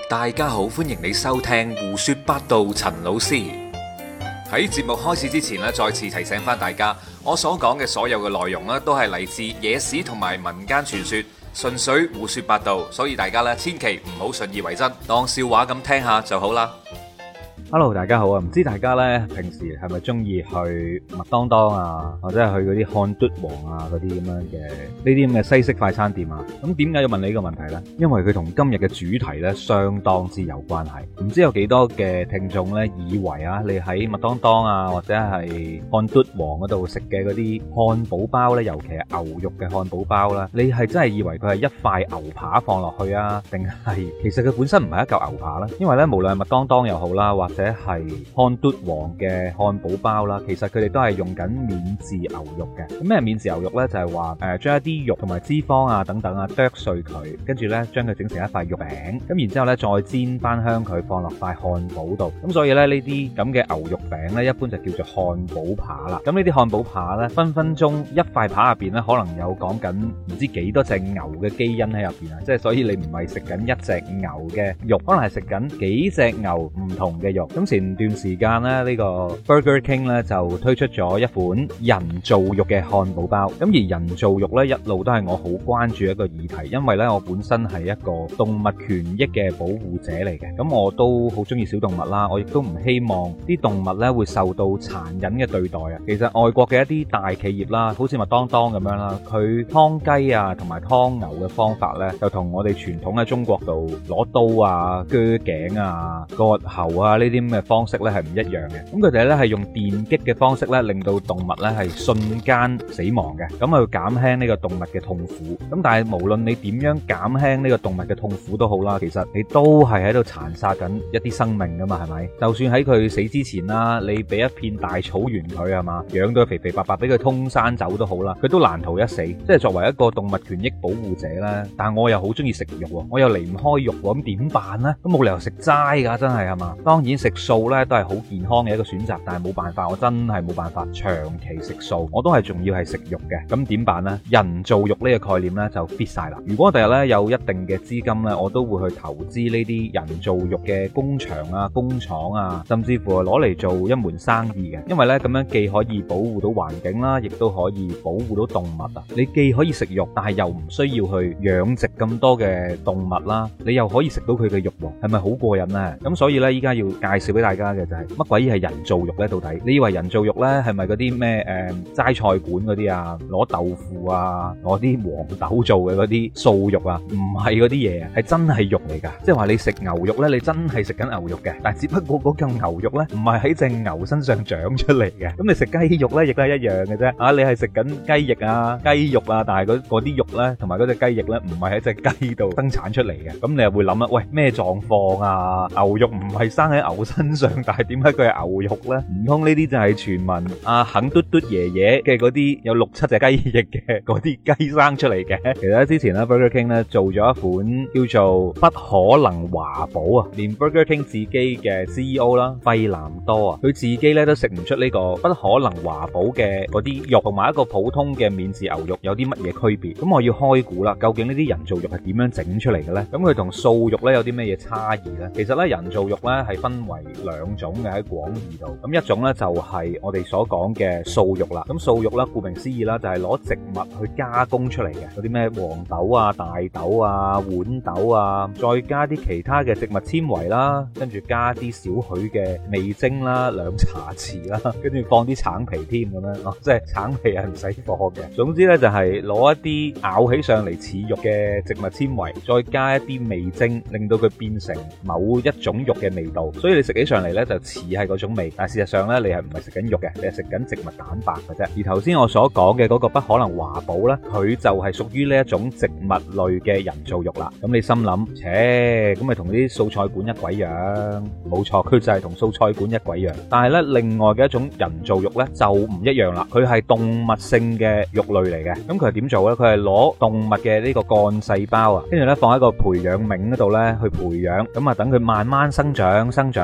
大家好，歡迎你收聽胡說八道。陳老師喺節目開始之前咧，再次提醒翻大家，我所講嘅所有嘅內容咧，都係嚟自野史同埋民間傳說，純粹胡說八道，所以大家咧千祈唔好信以為真，當笑話咁聽下就好啦。 Hello， 大家好啊！唔知大家咧平時係咪中意去麥當當啊，或者係去嗰啲漢嘟王啊嗰啲咁樣嘅呢啲咁嘅西式快餐店啊？咁點解要問你呢個問題呢？因為佢同今日嘅主題咧相當之有關係。唔知有幾多嘅聽眾咧以為啊，你喺麥當當啊或者係漢嘟王嗰度食嘅嗰啲漢堡包咧，尤其係牛肉嘅漢堡包啦，你係真係以為佢係一塊牛扒放落去啊，定係其實佢本身唔係一嚿牛扒咧？因為咧無論係麥當當又好啦，或者係漢嘟王嘅漢堡包啦，其實佢哋都係用緊免治牛肉嘅。咁咩免治牛肉呢？就係話將一啲肉同埋脂肪啊等等啊剁碎佢，跟住呢將佢整成一塊肉餅，咁然之後呢再煎翻香佢放落塊漢堡度。咁所以呢啲咁嘅牛肉餅呢，一般就叫做漢堡扒啦。咁呢啲漢堡扒呢，分分鐘一塊扒入邊呢，可能有講緊唔知幾多隻牛嘅基因喺入邊啊！即係所以你唔係食緊一隻牛嘅肉，可能係食緊幾隻牛唔同嘅肉。咁前段時間咧，呢個 Burger King 咧就推出咗一款人造肉嘅漢堡包。咁而人造肉咧一路都係我好關注一個議題，因為咧我本身係一個動物權益嘅保護者嚟嘅。咁我都好中意小動物啦，我亦都唔希望啲動物咧會受到殘忍嘅對待啊。其實外國嘅一啲大企業啦，好似麥當當咁樣啦，佢劏雞啊同埋劏牛嘅方法咧，就同我哋傳統喺中國度攞刀啊、鋸頸啊、割喉啊呢啲咁嘅方式咧係唔一樣嘅。咁佢哋咧係用電擊嘅方式咧，令到動物咧係瞬間死亡嘅，咁去減輕呢個動物嘅痛苦。咁但係無論你點樣減輕呢個動物嘅痛苦都好啦，其實你都係喺度殘殺緊一啲生命噶嘛，係咪？就算喺佢死之前啦，你俾一片大草原佢係嘛，養到佢肥肥白白俾佢通山走都好啦，佢都難逃一死。即係作為一個動物權益保護者咧，但係我又好中意食肉喎，我又離唔開肉喎，咁點辦咧？都冇理由食齋噶，真係嘛？當然食素咧都係好健康嘅一個選擇，但係冇辦法，我真係冇辦法長期食素，我都係仲要係食肉嘅。咁點辦呢？人造肉呢個概念呢就 fit 晒啦。如果我第日呢有一定嘅資金呢，我都會去投資呢啲人造肉嘅工場啊、工廠啊，甚至乎係攞嚟做一門生意嘅。因為呢咁樣既可以保護到環境啦，亦都可以保護到動物啊。你既可以食肉，但係又唔需要去養殖咁多嘅動物啦，你又可以食到佢嘅肉喎，係咪好過癮呢？咁所以呢，依家要介紹俾大家嘅就係乜鬼嘢係人造肉呢？到底你以為人造肉呢係咪嗰啲咩齋菜館嗰啲啊，攞豆腐啊，攞啲黃豆做嘅嗰啲素肉啊？唔係嗰啲嘢啊，係真係肉嚟㗎。即係話你食牛肉呢，你真係食緊牛肉嘅，但係只不過嗰嚿牛肉呢唔係喺隻牛身上長出嚟嘅。咁你食雞肉呢亦都係一樣嘅啫。啊，你係食緊雞翼啊、雞肉啊，但係嗰啲肉呢同埋嗰隻雞翼呢唔係喺隻雞度生產出嚟嘅。咁你又會諗啊，喂，咩狀況啊？牛肉唔係生喺牛身上，但係點解佢係牛肉呢？唔通呢啲就係傳聞阿肯嘟嘟爺爺嘅嗰啲有6-7隻雞翼嘅嗰啲雞生出嚟嘅？其實之前咧 Burger King 咧做咗一款叫做不可能華堡啊，連 Burger King 自己嘅 CEO 啦費南多啊，佢自己咧都食唔出呢個不可能華堡嘅嗰啲肉同埋一個普通嘅免治牛肉有啲乜嘢區別。咁我要開估啦，究竟呢啲人造肉係點樣整出嚟嘅咧？咁佢同素肉咧有啲咩嘢差異咧？其實咧人造肉咧係分為2種嘅喺廣義度。咁一種咧就係我哋所講嘅素肉啦。咁素肉啦，顧名思義啦，就係攞植物去加工出嚟嘅，嗰啲咩黃豆啊、大豆啊、豌豆啊，再加啲其他嘅植物纖維啦，跟住加啲少許嘅味精啦，2茶匙啦，跟住放啲橙皮添咁樣。即係橙皮係唔使放嘅。總之咧就係攞一啲咬起上嚟似肉嘅植物纖維，再加一啲味精，令到佢變成某一種肉嘅味道。所以你食起上嚟咧就似係嗰種味，但係事實上咧你係唔係食緊肉嘅，你係食緊植物蛋白嘅啫。而頭先我所講嘅嗰個不可能華堡咧，佢就係屬於呢一種植物類嘅人造肉啦。咁你心諗，咁咪同啲素菜館一鬼樣？冇錯，佢就係同素菜館一鬼樣。但係咧另外嘅一種人造肉咧就唔一樣啦，佢係動物性嘅肉類嚟嘅。咁佢係點做咧？佢係攞動物嘅呢個幹細胞啊，跟住咧放喺個培養皿嗰度咧去培養，咁啊等佢慢慢生長，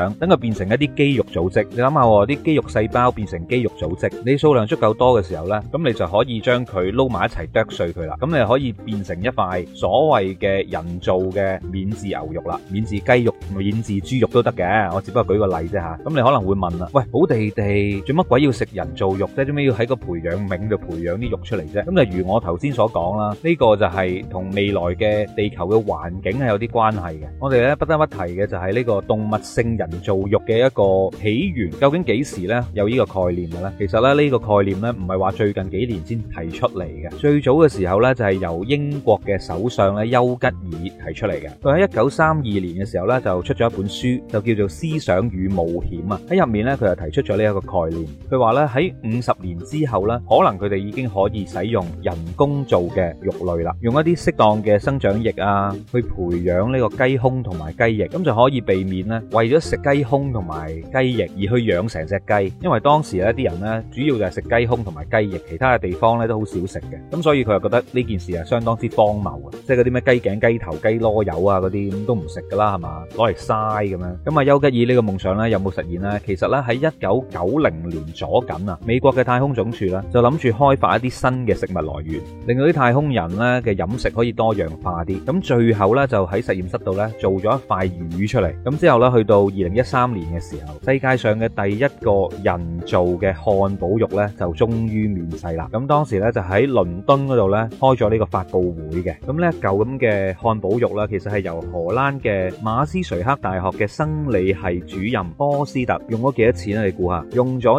長，等佢變成一啲肌肉組織。你諗下喎，啲肌肉細胞變成肌肉組織，你數量足夠多嘅時候呢，咁你就可以將佢撈埋一齊剁碎佢啦。咁你可以變成一塊所謂嘅人造嘅免治牛肉啦，免治雞肉、免治豬肉都得嘅。我只不過舉個例啫嚇。咁你可能會問啦，喂，好地地做乜鬼要食人造肉啫？做咩要喺個培養皿度培養啲肉出嚟啫？咁就如我頭先所講啦，呢個就係同未來嘅地球嘅環境係有啲關係嘅。我哋咧不得不提嘅就係呢個動物性人造肉嘅一個起源，究竟幾時咧有呢個概念嘅咧？其實咧呢個概念咧唔係話最近幾年先提出嚟嘅，最早嘅時候咧就係由英國嘅首相咧丘吉爾提出嚟嘅。佢喺1932年嘅時候咧就出咗一本書，就叫做《思想與冒險》啊。喺入面咧佢就提出咗呢一個概念，佢話咧喺50年之後咧，可能佢哋已經可以使用人工做嘅肉類啦，用一啲適當嘅生長液啊，去培養呢個雞胸同埋雞翼，咁就可以避免咧為咗食雞胸同埋雞翼而去養成隻雞，因為當時咧啲人咧主要就係食雞胸同埋雞翼，其他嘅地方咧都好少食嘅，咁所以佢就覺得呢件事係相當之荒謬嘅，即係嗰啲咩雞頸、雞頭、雞籮柚啊嗰啲咁都唔食噶啦，係嘛，攞嚟嘥咁樣。咁啊丘吉爾呢個夢想咧有冇實現呢？其實咧喺1990年左緊啊，美國嘅太空總署咧就諗住開發一啲新嘅食物來源，令到啲太空人咧嘅飲食可以多樣化啲。咁最後咧就喺實驗室度咧做咗一塊魚出嚟。咁之後咧去到2013年嘅時候，世界上嘅第一個人造嘅漢堡肉咧就終於面世啦。咁當時咧就喺倫敦嗰度咧開咗呢個發佈會嘅。咁呢一嚿咁嘅漢堡肉咧，其實係由荷蘭嘅馬斯垂克大學嘅生理系主任波斯特用咗幾多錢咧？你估下？用咗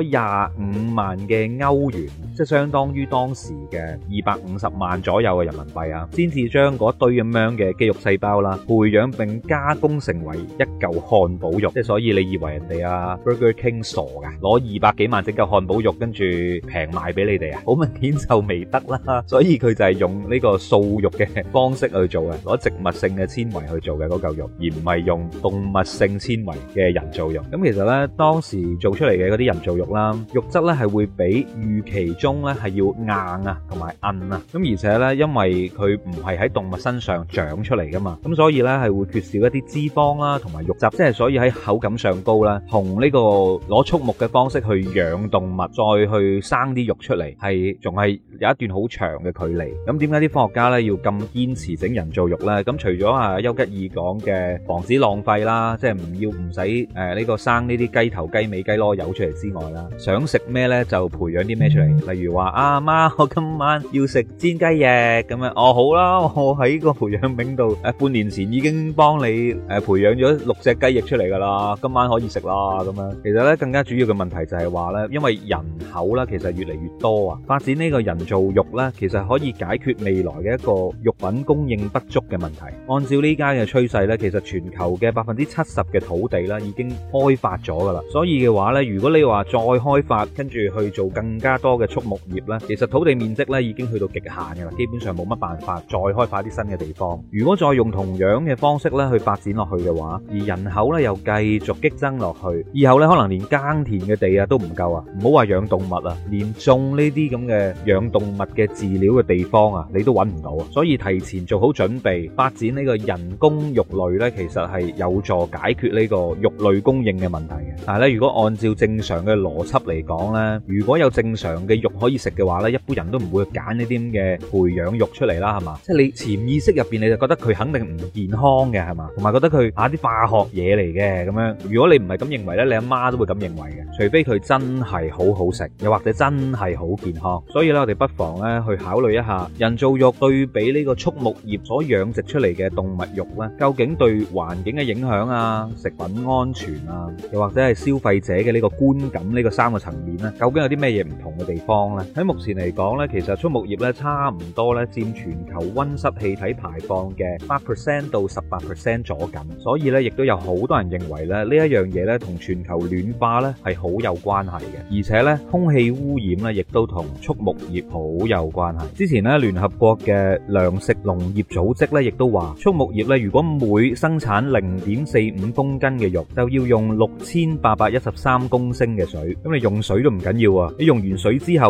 25萬嘅歐元，即係相當於當時嘅250萬左右嘅人民幣啊，先至將嗰堆咁樣嘅肌肉細胞啦，培養並加工成為一嚿漢堡肉。即係所以你以為人哋啊 Burger King 傻噶，攞200幾萬整嚿漢堡肉，跟住平賣俾你哋啊？好明顯就未得啦。所以佢就係用呢個素肉嘅方式去做嘅，攞植物性嘅纖維去做嘅嗰嚿肉，而唔係用動物性纖維嘅人造肉。咁其實呢，當時做出嚟嘅嗰啲人造肉啦，肉質呢係會比預期中呢係要硬啊，同埋韌啊。咁而且呢，因為佢唔係喺動物身上長出嚟噶嘛，咁所以呢係會缺少一啲脂肪啦，同埋肉質，即係所以喺口感上高啦，同呢個攞畜牧嘅方式去養動物，再去生啲肉出嚟，係仲係有一段好長嘅距離。咁點解啲科學家呢要咁堅持整人造肉呢？咁除咗丘吉爾講嘅防止浪費啦，即係唔使呢個生呢啲雞頭雞尾雞籮柚出嚟之外啦，想食咩呢就培養啲咩出嚟。例如話阿媽，我今晚要食煎雞翼咁樣，哦好啦，我喺個培養皿度半年前已經幫你培養咗6隻雞翼出嚟噶啦，今晚可以食啦咁樣。其實呢更加主要嘅問題就係話呢，因為人口呢其實越嚟越多啊，發展呢個人造肉呢其實可以解決未來嘅一個肉品供應不足嘅問題。按照呢家嘅趨勢呢，其實全球嘅70%嘅土地呢已經開發咗噶啦，所以嘅話呢，如果你話再開發跟住去做更加多嘅畜牧業呢，其實土地面積呢已經去到極限噶啦，基本上冇乜辦法再開發啲新嘅地方。如果再用同樣嘅方式呢去發展落去嘅話，而人口呢又繼續激增落去，以後呢可能連耕田嘅地啊都唔夠啊，唔好話養動物啊，連種呢啲咁嘅養動物嘅飼料嘅地方啊，你都揾唔到啊。所以提前做好準備，發展呢個人工肉類呢，其實係有助解決呢個肉類供應嘅問題嘅。但係咧，如果按照正常嘅邏輯嚟講呢，如果有正常嘅肉可以食嘅話呢，一般人都唔會揀呢啲咁嘅培養肉出嚟啦，係嘛？即係你潛意識入邊你就覺得佢肯定唔健康嘅，係嘛？同埋覺得佢啲化學嘢嚟嘅咁樣。如果你唔係咁認為呢，你阿媽都會咁認為嘅，除非佢真係好好食，又或者真係好健康。所以咧，我哋不妨呢去考慮一下人造肉對比呢個畜牧業所養殖出嚟嘅動物肉呢，究竟對環境嘅影響啊、食品安全啊，又或者係消費者嘅呢個觀感呢個3個層面呢，究竟有啲咩嘢唔同嘅地方呢？喺目前嚟講呢，其實畜牧業呢差唔多呢佔全球溫室氣體排放嘅8% 到18% 左右，所以呢亦都有好多人認為咧呢一樣嘢呢同全球暖化呢係好有關係嘅，而且呢空氣污染呢亦都同畜牧業好有關係。之前呢聯合國嘅糧食農業組織呢亦都話，畜牧業呢如果每生產0.45公斤嘅肉，就要用6813公升嘅水。咁你用水都唔緊要啊，你用完水之後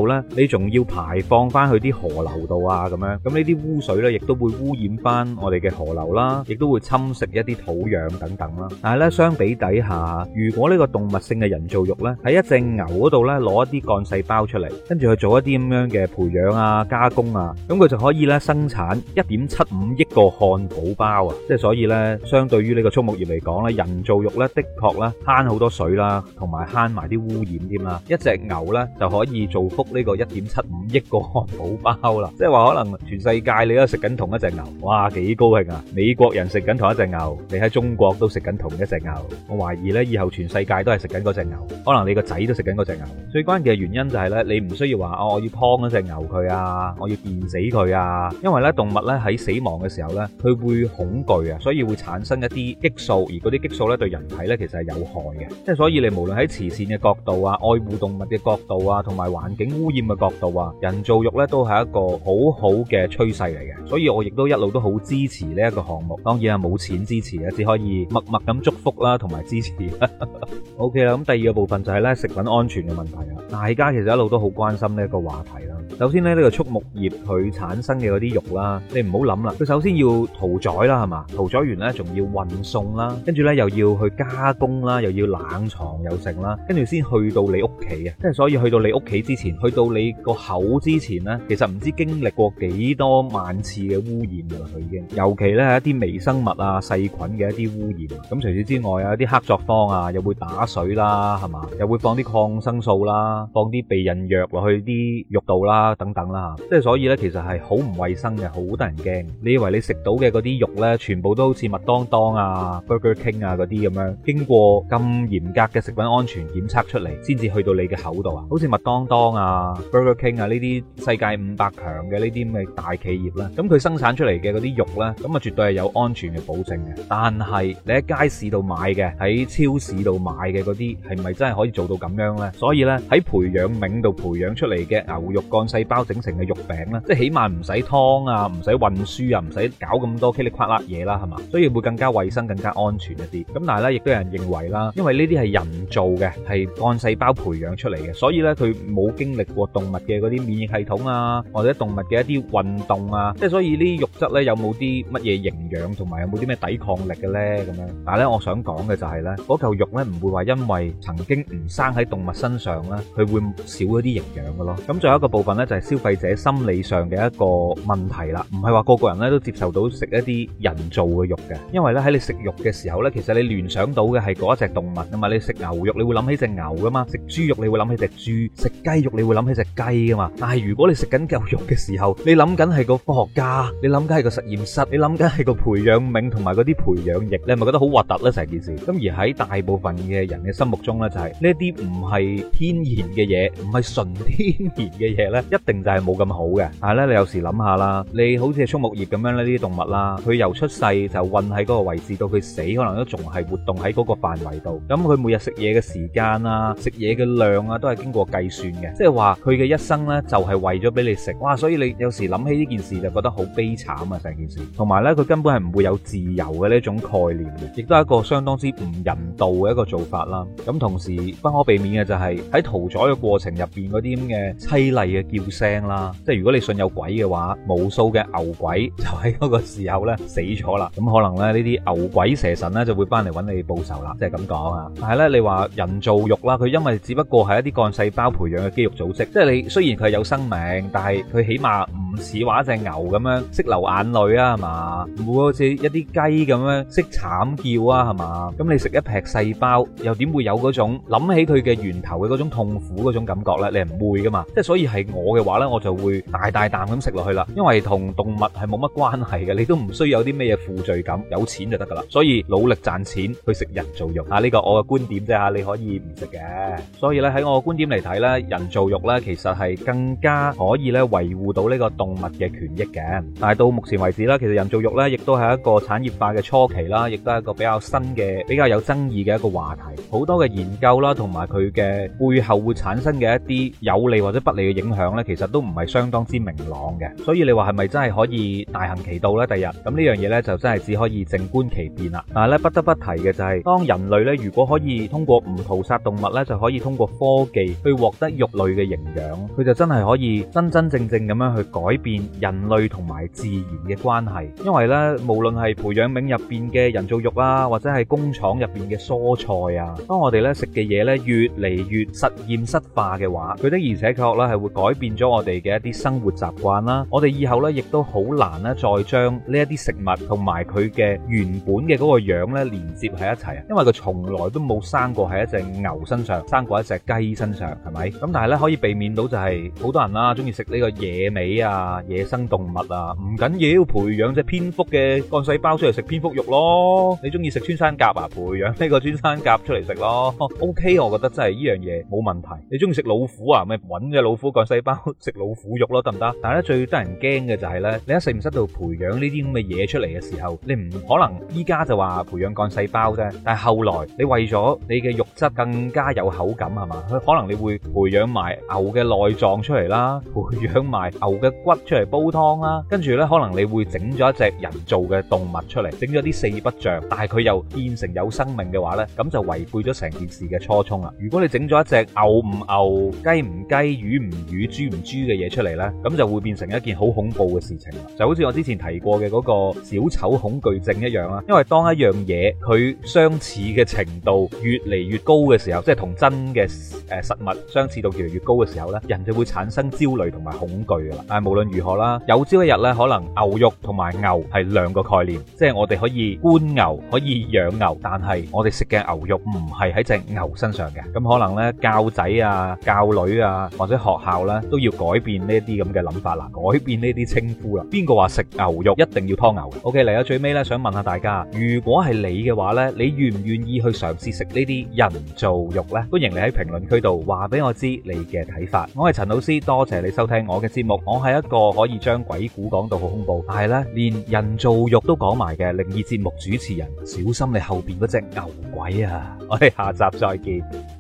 後呢，你仲要排放翻去啲河流度啊咁樣，咁呢啲污水呢，亦都會污染翻我哋嘅河流啦，亦都會侵蝕一啲土壤等等啦。但係呢，相比底下，如果呢個動物性嘅人造肉呢，喺一隻牛嗰度呢，攞一啲幹細胞出嚟，跟住去做一啲咁樣嘅培養啊、加工啊，咁佢就可以呢生產1.75億個漢堡包啊！即係所以呢，相對於呢個畜牧業嚟講呢，人造肉呢，的確呢慳好多水啦，同埋慳埋啲污染添啦。一隻牛呢，就可以造福呢個1.75億個漢堡包啦！即係話可能全世界你都食緊同一隻牛，哇幾高興啊！美國人食緊同一隻牛，你喺中國都食緊同一隻牛。我懷疑呢，以後全世界都係食緊嗰隻牛，可能你個仔都食緊嗰隻牛。最關鍵嘅原因就係呢，你唔需要話我要劏嗰隻牛佢啊，我要電死佢啊，因為呢動物呢喺死亡嘅時候呢，佢會恐懼啊，所以會產生一啲激素，而嗰啲激素呢對人體呢其實係有害嘅。即係所以你無論喺慈善嘅角度啊、愛護動物嘅角度啊、同埋環境污染嘅角度啊，人造肉呢都係一個好好嘅趨勢嚟嘅。所以我亦都一路都好支持呢一個項目。當然係冇錢支持啊，只可以默默咁祝福啦，同埋支持。OK 啦，咁第二個部分就係呢食品安全嘅問題啊。大家其實一路都好關心呢一個話題啦。首先呢，呢個畜牧業佢產生嘅嗰啲肉啦，你唔好諗啦，佢首先要屠宰啦，係嘛？屠宰完呢，仲要運送啦，跟住呢又要去加工啦，又要冷藏又剩啦，跟住先去到你屋企啊！即係所以去到你屋企之前，去到你個口之前呢，其實唔知經歷過幾多萬次嘅污染㗎啦，佢已經。尤其呢係一啲微生物啊、細菌嘅一啲污染。咁除此之外啊，一啲黑作坊啊，又會打水啦，係嘛？又會放啲抗生素啦，放啲避孕藥落去啲肉度啦，等等啦。即係所以呢，其實係好唔衛生嘅，好得人驚。你以為你食到嘅嗰啲肉呢，全部都好似麥當當啊、Burger King 啊嗰啲咁樣，經過咁嚴格嘅食品安全檢測出嚟，先至去到你嘅口度啊？好似麥當當啊、Burger King 啊呢啲世界500強嘅呢啲咁嘅大企業啦，咁佢生產出嚟嘅嗰啲肉呢，咁啊絕對係有安全嘅保證嘅。但係你喺街市度買嘅，喺超市度買嘅嗰啲，係咪真係可以做到咁樣呢？所以呢，喺培養皿度培養出嚟嘅牛肉幹細胞整成嘅肉餅呢，即係起碼唔使劏啊，唔使運輸啊，唔使搞咁多噼里啪啦嘢啦，係嘛？所以會更加衛生、更加安全一啲。咁但係咧，亦都有人認為啦，因為呢啲係人造嘅，係幹細胞培養出嚟嘅，所以咧佢冇經歷過動物嘅嗰啲免疫系統啊，或者動物嘅一啲運動啊，即係所以呢啲肉質咧有冇啲乜嘢營養，同埋有冇啲咩抵抗力嘅咧咁樣？但係咧，我想講嘅就係咧，嗰嚿肉咧唔會話因為曾經唔生喺動物身上咧，佢會少咗啲營養嘅咯。咁仲有一個部分咧，就係消費者心理上嘅一個問題啦，唔係話個個人咧都接受到食一啲人造嘅肉嘅，因為咧喺你食肉嘅時候咧，其實你聯想到嘅係嗰一隻動物噶嘛，你食牛肉你會諗起隻牛噶嘛，食豬肉你會諗起隻豬，食雞肉你會諗起隻雞噶嘛。但係如果你食緊嚿肉嘅時候，你諗緊係個科學家，你諗緊係個實驗室，你諗緊係個培養皿同埋嗰啲培養液，你係咪覺得好核突咧成件事？咁而喺大部分嘅人嘅心目中咧，就係呢一啲唔係天然嘅嘢，唔係純天然嘅嘢咧，一定就係冇咁好嘅。但係咧，你有時諗下啦，你好似係畜牧業咁樣呢啲動物啦，佢由出世就韞喺嗰個位置到佢死，可能都仲係活動喺嗰個範圍度。咁佢每日食嘢嘅時間啊，食嘢嘅量啊，都係經過計算嘅。即係話佢嘅一生呢，就係為咗俾你食。哇！所以你有時諗起呢件事就覺得好悲慘啊，成件事。同埋呢，佢根本係唔會有自由嘅呢種概念嘅，亦都係一個相當之唔人道嘅一個做法啦。咁同時不可避免嘅就係喺屠宰嘅過程入邊嗰啲咁嘅淒厲嘅叫聲啦。即係如果你信有鬼嘅話，無數嘅牛鬼就喺嗰個時候呢死咗啦。咁可能咧呢啲牛鬼蛇神呢就會翻嚟揾你報仇啦，即係咁講啊。但係呢，你話人造肉啦，佢因為只不過係一啲幹細胞培養嘅肌肉組織，即係你雖然佢係有生命，但係佢起碼唔似話一隻牛咁樣識流眼淚啊，係嘛？唔會好似一啲雞咁樣識慘叫啊，係嘛？咁你食一劈細胞，又點會有嗰種諗起佢嘅源頭嘅嗰種痛苦嗰種感覺呢？你係唔會噶嘛？即係所以係我嘅話呢，我就會大大啖咁食落去啦，因為同動物係冇乜關係嘅，你都唔需要有啲咩嘢負罪感，有錢就得噶啦。所以努力賺錢去食人造肉啊，呢個我嘅觀點啫吓，你可以唔食嘅。所以咧喺我嘅觀點嚟睇呢，人造肉呢其實係更加可以咧維護到呢個動物嘅權益嘅。但係到目前為止啦，其實人造肉呢亦都係一個產業化嘅初期啦，亦都係一個比較新嘅、比較有爭議嘅一個話題。好多嘅研究啦，同埋佢嘅背後會產生嘅一啲有利或者不利嘅影響呢，其實都唔係相當之明朗嘅。所以你話係咪真係可以大行其道呢？第日咁呢樣嘢呢，就真係只可以靜觀其變啦。但係咧不得不提嘅就係，當人類呢，如果可以通過唔屠殺動物呢，就可以通過科技去獲得肉類嘅營養，佢就真係可以真真正正咁樣去改變人類同埋自然嘅關係。因為呢，無論係培養皿入邊嘅人造肉啊，或者係工廠入邊嘅蔬菜啊，當我哋呢食嘅嘢呢越嚟越實驗室化嘅話，佢的而且確呢係會改變咗我哋嘅一啲生活習慣啦。我哋以後呢亦都好難呢再將呢一啲食物同埋佢嘅原本嘅嗰個樣呢連接喺一齊啊，因為佢從來都冇生過喺一隻牛身上，生過一隻雞身上，係咪？咁但係呢可以避免到就係好多人啦中意食呢個野味啊、野生動物啊，唔緊要，培養隻蝙蝠嘅幹細胞出嚟食蝙蝠肉咯。你中意食穿山甲啊，培養呢個穿山甲出嚟食咯。OK， 我覺得真係呢樣嘢冇問題。你中意食老虎啊，咪搵隻老虎幹細胞食老虎肉咯，得唔得？但係咧最得人驚嘅就係咧，你喺實驗室度培養呢啲咁嘅嘢出嚟嘅時候，你唔可能依家就話培養幹細胞啫。但係後來你為咗你嘅肉質更加有口感係嘛，佢可能你會培養埋牛嘅內臟出嚟啦，培養埋牛嘅骨出嚟煲湯啦，跟住咧可能你會整咗一隻人造嘅動物出嚟，整咗啲四不像，但係佢又變成有生命嘅話咧，咁就違背咗成件事嘅初衷啦。如果你整咗一隻牛唔牛、雞唔雞、魚唔魚、豬唔豬嘅嘢出嚟咧，咁就會變成一件好恐怖嘅事情啦。就好似我之前提過嘅嗰個小丑恐懼症一樣啦。因為當一樣嘢佢相似嘅程度越嚟越高嘅時候，即係同真嘅實物相似度越嚟越高嘅時候咧，人就會產生焦慮同埋恐懼噶啦。但係無論如何啦，有朝一日咧，可能牛肉同埋牛係兩個概念，即係我哋可以觀牛，可以養牛，但係我哋食嘅牛肉唔係喺隻牛身上嘅。咁可能咧教仔啊、教女啊或者學校咧都要改變呢啲咁嘅諗法啦，改變呢啲稱呼啦。邊個話食牛肉一定要劏牛嘅？OK，嚟到最尾咧，想問下大家，如果係你嘅話咧，你願唔願意去嘗試食呢啲人造肉呢？歡迎你喺評論區度話俾我知你嘅睇法。我係陳老師，多謝你收聽我嘅節目。我係一個可以將鬼故講到好恐怖，但係咧連人造肉都講埋嘅靈異節目主持人。小心你後邊嗰隻牛鬼啊！我哋下集再見。